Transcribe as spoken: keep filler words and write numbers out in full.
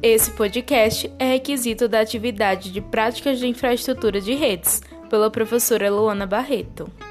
Esse podcast é requisito da atividade de práticas de infraestrutura de redes, pela professora Luana Barreto.